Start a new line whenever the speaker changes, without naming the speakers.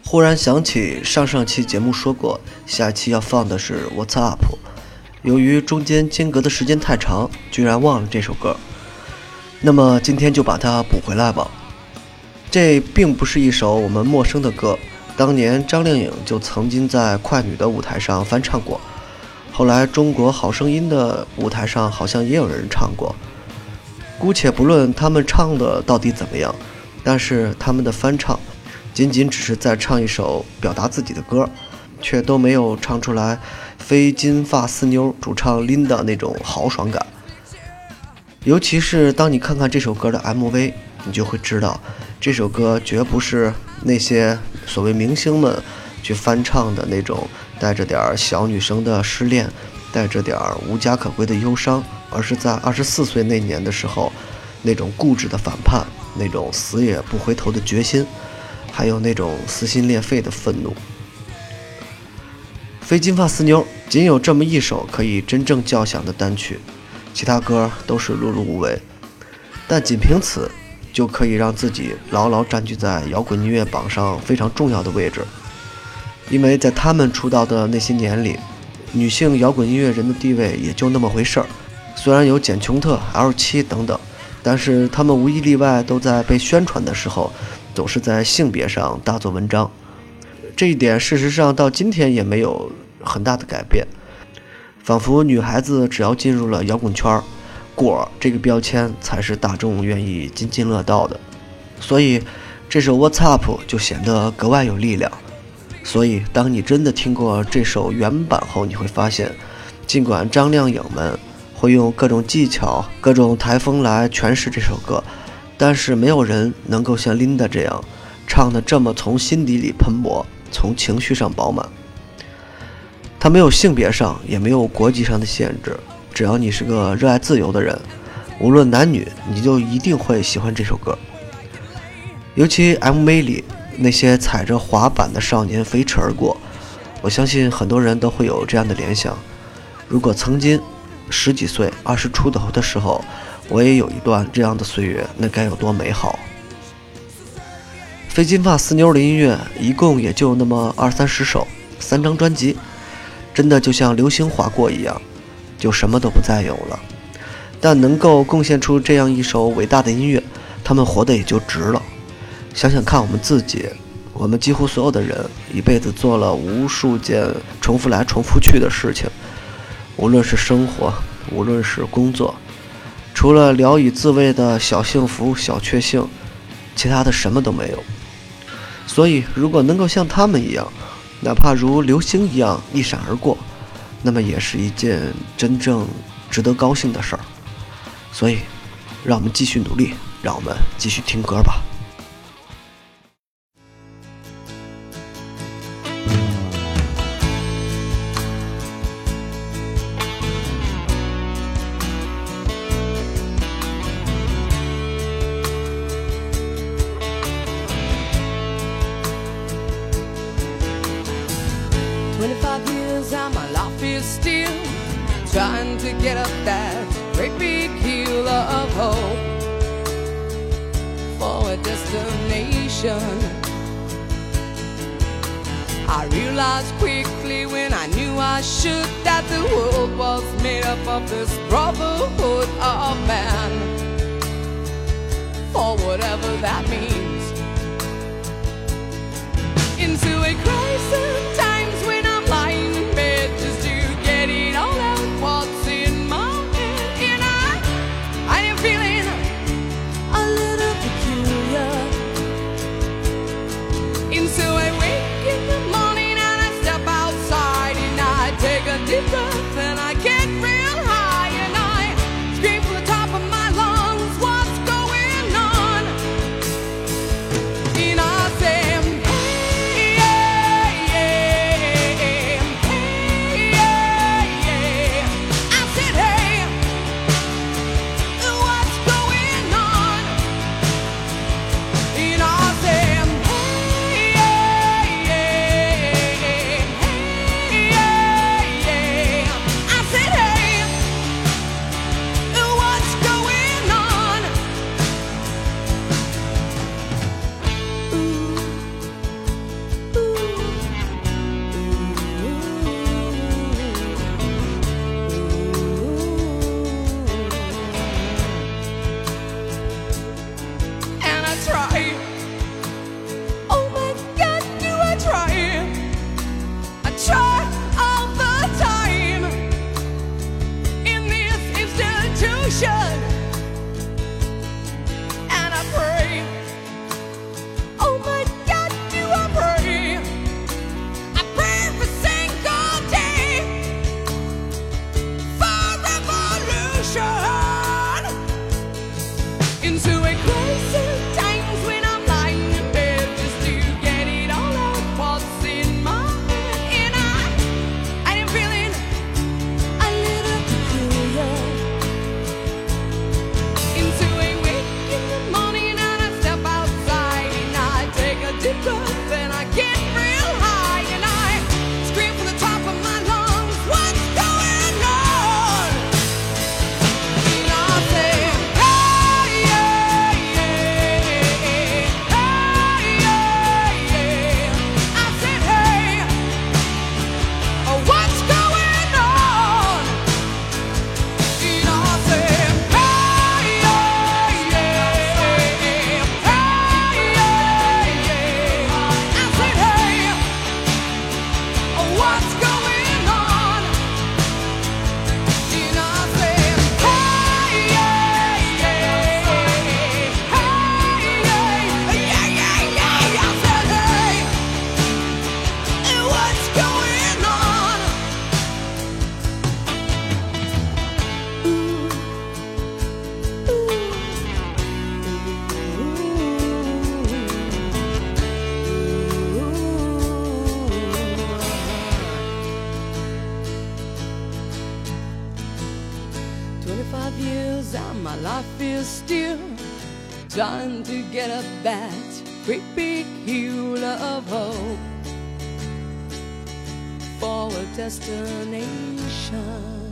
忽然想起上期节目说过，下期要放的是 What's Up， 由于中间间隔的时间太长，居然忘了这首歌。那么今天就把它补回来吧。这并不是一首我们陌生的歌，当年张靓颖就曾经在快女的舞台上翻唱过，后来中国好声音的舞台上好像也有人唱过。姑且不论他们唱的到底怎么样，但是他们的翻唱仅仅只是在唱一首表达自己的歌，却都没有唱出来非金发四妞主唱 Linda 那种豪爽感。尤其是当你看看这首歌的 MV， 你就会知道这首歌绝不是那些所谓明星们去翻唱的那种带着点小女生的失恋，带着点无家可归的忧伤，而是在24岁那年的时候那种固执的反叛，那种死也不回头的决心，还有那种撕心裂肺的愤怒。非金发四妞仅有这么一首可以真正叫响的单曲，其他歌都是碌碌无为，但仅凭此就可以让自己牢牢占据在摇滚音乐榜上非常重要的位置。因为在他们出道的那些年里，女性摇滚音乐人的地位也就那么回事儿，虽然有简琼特、L7等等，但是他们无一例外都在被宣传的时候总是在性别上大做文章。这一点事实上到今天也没有很大的改变，仿佛女孩子只要进入了摇滚圈，果这个标签才是大众愿意津津乐道的。所以这首 What's Up 就显得格外有力量。所以当你真的听过这首原版后，你会发现，尽管张靓颖们会用各种技巧各种台风来诠释这首歌，但是没有人能够像 Linda 这样唱得这么从心底里喷薄，从情绪上饱满。它没有性别上也没有国籍上的限制，只要你是个热爱自由的人，无论男女，你就一定会喜欢这首歌。尤其 MV 里那些踩着滑板的少年飞驰而过，我相信很多人都会有这样的联想，如果曾经10几岁20出头的时候我也有一段这样的岁月，那该有多美好。非金发四妞的音乐一共也就那么20-30首，3张专辑，真的就像流星划过一样，就什么都不再有了。但能够贡献出这样一首伟大的音乐，他们活得也就值了。想想看我们自己，我们几乎所有的人一辈子做了无数件重复来重复去的事情，无论是生活，无论是工作，除了聊以自慰的小幸福小确幸，其他的什么都没有。所以如果能够像他们一样，哪怕如流星一样一闪而过，那么也是一件真正值得高兴的事儿。所以让我们继续努力，让我们继续听歌吧。
25 years and my life is still trying to get up that great big hill of hope for a destination. I realized quickly when I knew I should that the world was made up of this brotherhood of man, for whatever that means. Into a crisis times when I'm lying in bed just to get it all out what's in my head, and I am feeling a little peculiar. And so I wake in the morning and I step outside and I take a deep breath and I get real high and I scream from the top of my lungs, what's going on? revolution. And I pray, oh my God, do I pray? I pray every single day for revolution. Into a crisis times when I'm lying in bed just to get it all out what's in my head. And I am feeling a little peculiar. Into a wake in the morning and I step outside and I take a deep breath and I get real high and I scream from the top of my lungs, what's going on? And I say, hey, yeah, yeah, hey, yeah, yeah. I said, hey, what's going on? And I said, hey, yeah, yeah, hey, yeah, yeah. I said, hey, what's going on? And I said, hey, yeah, yeah, hey, yeah, yeah, yeah. I said, hey, what's going on? Ooh. 25 years and my life is still trying to get up that great big hill of hope for a destination.